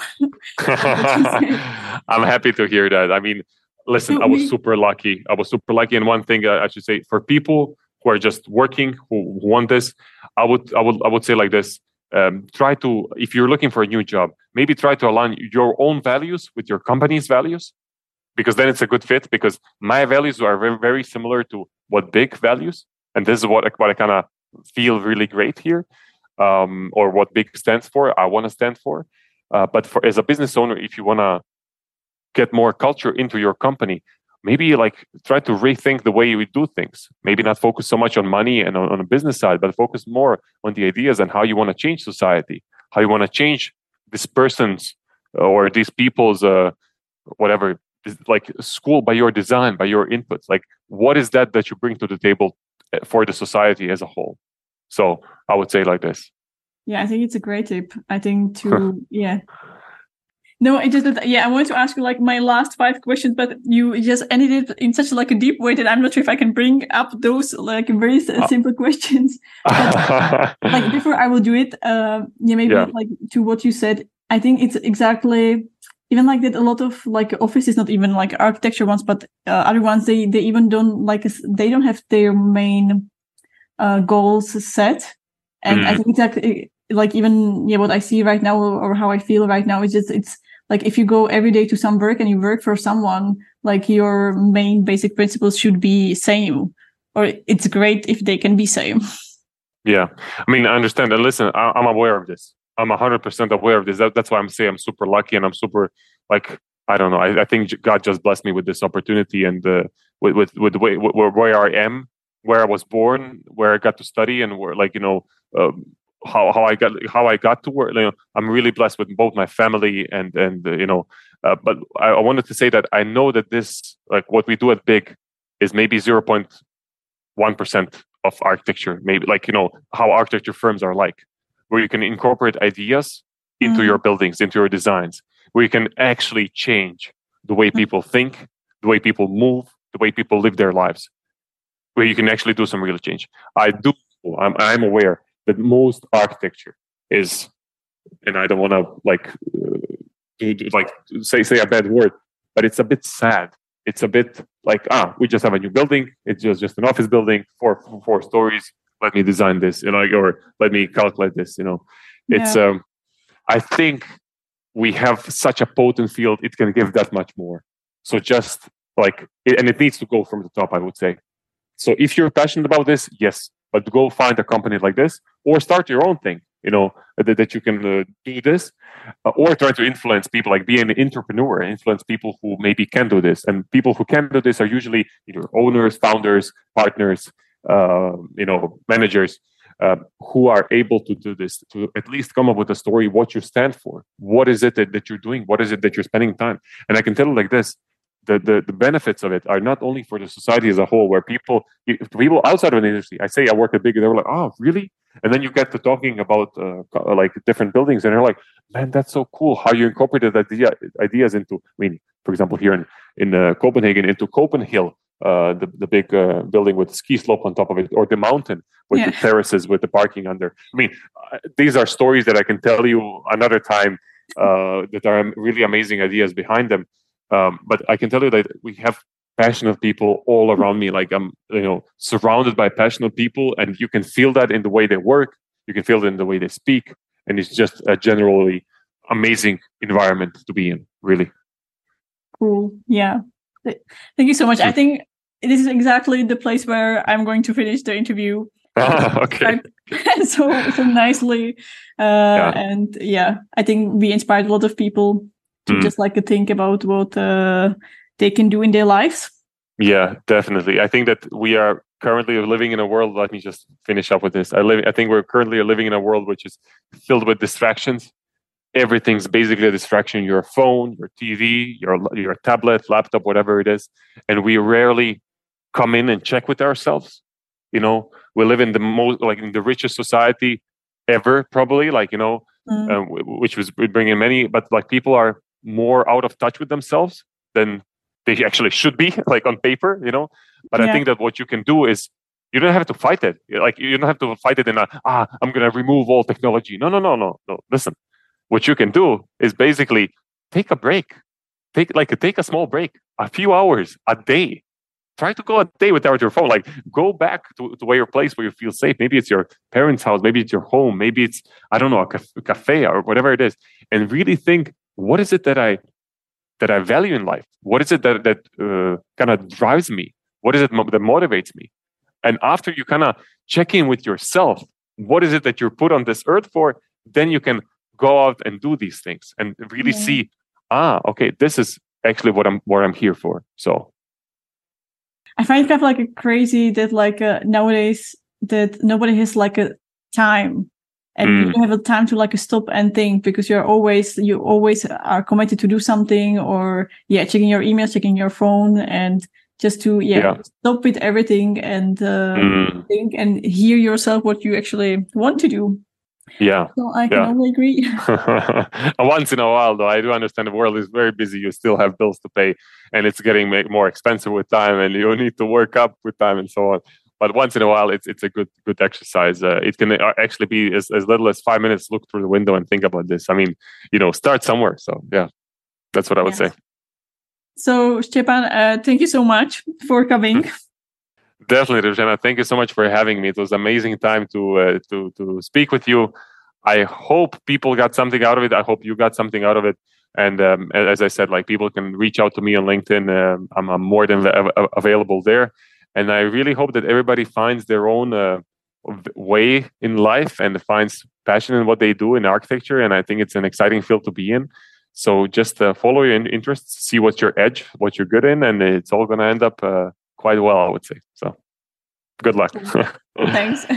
I'm happy to hear that. I mean, listen, I was super lucky. And one thing I should say, for people who are just working, who want this, I would say like this. Try to, if you're looking for a new job, maybe try to align your own values with your company's values, because then it's a good fit. Because my values are very, very similar to what Big values, and this is what I kind of feel really great here, or what Big stands for. I want to stand for. But for as a business owner, if you want to get more culture into your company, maybe like try to rethink the way we do things. Maybe not focus so much on money and on the business side, but focus more on the ideas and how you want to change society, how you want to change this person's or these people's whatever, like school by your design, by your inputs. Like, what is that you bring to the table for the society as a whole? So I would say like this. Yeah, I think it's a great tip. I think yeah. No, it just, I wanted to ask you like my last 5 questions, but you just ended it in such like a deep way that I'm not sure if I can bring up those like very simple questions. But, like before I will do it, like to what you said, I think it's exactly even like that. A lot of like offices, not even like architecture ones, but other ones, they even don't they don't have their main goals set, and I think exactly like even what I see right now or how I feel right now is just it's like if you go every day to some work and you work for someone, like your main basic principles should be same, or it's great if they can be same. Yeah, I mean, I understand. And listen, I'm aware of this. I'm 100% aware of this. That's why I'm saying I'm super lucky, and I'm super like, I don't know. I think God just blessed me with this opportunity, and with the way where I am, where I was born, where I got to study, and where how I got to work. I'm really blessed with both my family and but I wanted to say that I know that this, like what we do at Big, is maybe 0.1% of architecture. Maybe like how architecture firms are like, where you can incorporate ideas into your buildings, into your designs, where you can actually change the way people think, the way people move, the way people live their lives, where you can actually do some real change. I'm aware that most architecture is, and I don't want to say a bad word, but it's a bit sad. It's a bit like, we just have a new building. It's just an office building, four stories. Let me design this, or let me calculate this. It's. I think we have such a potent field; it can give that much more. So just and it needs to go from the top, I would say. So if you're passionate about this, yes, but go find a company like this, or start your own thing. That you can do this, or try to influence people, like be an entrepreneur, influence people who maybe can do this. And people who can do this are usually either owners, founders, partners, managers, who are able to do this, to at least come up with a story, what you stand for, what is it that you're doing, what is it that you're spending time. And I can tell you like this, the benefits of it are not only for the society as a whole, where people outside of an industry, I say I work at Big, and they were like, oh, really? And then you get to talking about like different buildings, and they're like, man, that's so cool how you incorporated ideas into, for example, here in Copenhagen, into Copenhill, the big building with the ski slope on top of it, or the mountain with the terraces with the parking under. These are stories that I can tell you another time, that are really amazing ideas behind them. But I can tell you that we have passionate people all around me. Like I'm, surrounded by passionate people, and you can feel that in the way they work. You can feel it in the way they speak, and it's just a generally amazing environment to be in. Really cool. Yeah, thank you so much. I think this is exactly the place where I'm going to finish the interview. Okay. so nicely, and I think we inspired a lot of people to just think about what they can do in their lives. Yeah, definitely. I think that we are currently living in a world. Let me just finish up with this. I think we're currently living in a world which is filled with distractions. Everything's basically a distraction: your phone, your TV, your tablet, laptop, whatever it is. And we rarely come in and check with ourselves. We live in the most, in the richest society ever, probably, which was bringing many, but people are more out of touch with themselves than they actually should be, on paper, But I think that what you can do is, You don't have to fight it. Like, you don't have to fight it in I'm going to remove all technology. No. Listen, what you can do is basically take a break. Take a small break, a few hours, a day. Try to go a day without your phone. Like, go back to where your place where you feel safe. Maybe it's your parents' house. Maybe it's your home. Maybe it's, I don't know, a cafe or whatever it is. And really think, what is it that I value in life? What is it that kind of drives me? What is it that motivates me? And after you kind of check in with yourself, what is it that you're put on this earth for? Then you can go out and do these things and really see, okay, this is actually what I'm here for. So I find it kind of like crazy that like nowadays that nobody has like a time, and you don't have a time to like stop and think, because you always are committed to do something, or checking your emails, checking your phone, and just to stop with everything and think and hear yourself what you actually want to do. Yeah. So I can only agree. Once in a while, though, I do understand the world is very busy. You still have bills to pay, and it's getting more expensive with time, and you need to work up with time and so on. But once in a while, it's a good exercise. It can actually be as little as 5 minutes. Look through the window and think about this. I mean, start somewhere. So yeah, that's what I would say. So Stepan, thank you so much for coming. Definitely, Ruzhena. Thank you so much for having me. It was an amazing time to speak with you. I hope people got something out of it. I hope you got something out of it. And as I said, like, people can reach out to me on LinkedIn. I'm more than available there. And I really hope that everybody finds their own way in life and finds passion in what they do in architecture. And I think it's an exciting field to be in. So just follow your interests, see what's your edge, what you're good in, and it's all going to end up quite well, I would say. So good luck. Thanks.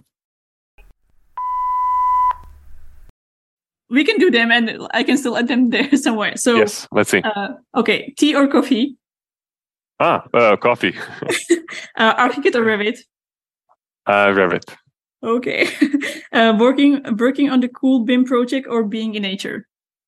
We can do them, and I can still add them there somewhere. So yes, let's see. Okay, tea or coffee? Coffee. ArchiCAD or Revit? Revit. Okay. Working on the cool BIM project or being in nature?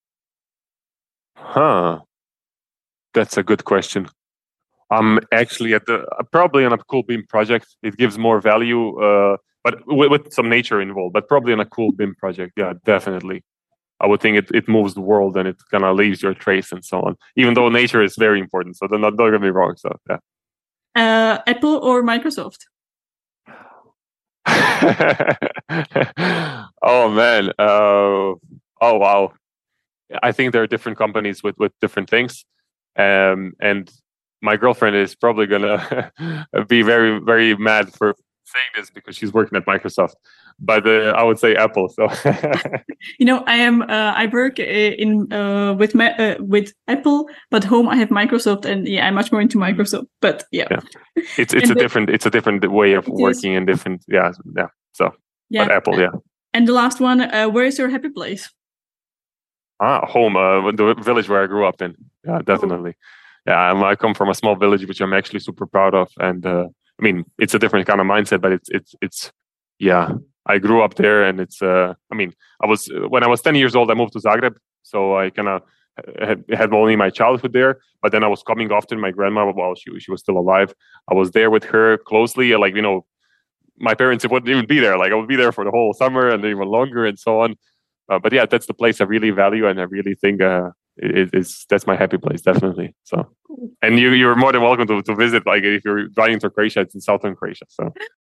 That's a good question. I'm actually probably on a cool BIM project. It gives more value, but with some nature involved. But probably on a cool BIM project, yeah, definitely. I would think it moves the world, and it kind of leaves your trace and so on. Even though nature is very important, so don't get me wrong. So yeah. Apple or Microsoft? Oh man. Oh wow. I think there are different companies with different things, and my girlfriend is probably gonna be very, very mad for saying this because she's working at Microsoft. But I would say Apple. So I work with Apple, but home I have Microsoft, and I'm much more into Microsoft. But it's a different way of working and different So but Apple, And the last one, where is your happy place? Home, the village where I grew up in. Yeah, definitely. Yeah, I come from a small village, which I'm actually super proud of. And I mean, it's a different kind of mindset, but it's I grew up there, and it's when I was 10 years old, I moved to Zagreb, so I kind of had only my childhood there. But then I was coming often. My grandma, while she was still alive, I was there with her closely. Like, my parents wouldn't even be there. Like, I would be there for the whole summer and even longer and so on. But yeah, that's the place I really value, and I really think that's my happy place, definitely. So, and you're more than welcome to visit. Like, if you're driving to Croatia, it's in southern Croatia. So